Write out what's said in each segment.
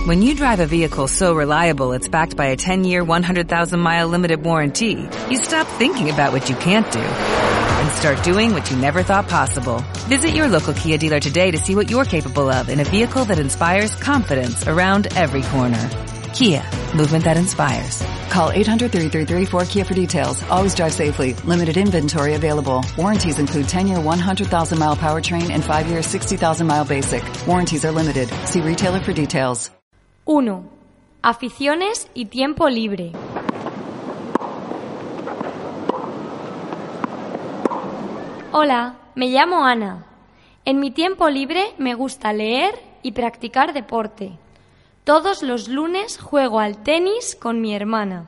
When you drive a vehicle so reliable it's backed by a 10-year, 100,000-mile limited warranty, you stop thinking about what you can't do and start doing what you never thought possible. Visit your local Kia dealer today to see what you're capable of in a vehicle that inspires confidence around every corner. Kia, movement that inspires. Call 800-3334-KIA for details. Always drive safely. Limited inventory available. Warranties include 10-year, 100,000-mile powertrain and 5-year, 60,000-mile basic. Warranties are limited. See retailer for details. 1. Aficiones y tiempo libre. Hola, me llamo Ana. En mi tiempo libre me gusta leer y practicar deporte. Todos los lunes juego al tenis con mi hermana.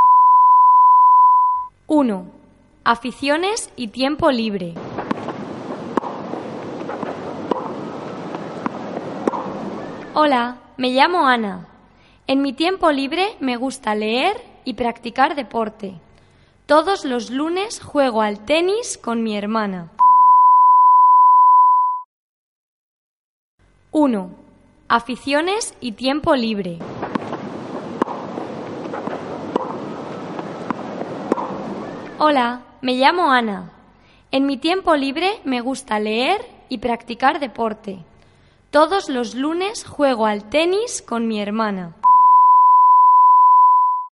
1. Aficiones y tiempo libre. Hola, me llamo Ana. En mi tiempo libre me gusta leer y practicar deporte. Todos los lunes juego al tenis con mi hermana. 1. Aficiones y tiempo libre. Hola, me llamo Ana. En mi tiempo libre me gusta leer y practicar deporte. Todos los lunes juego al tenis con mi hermana.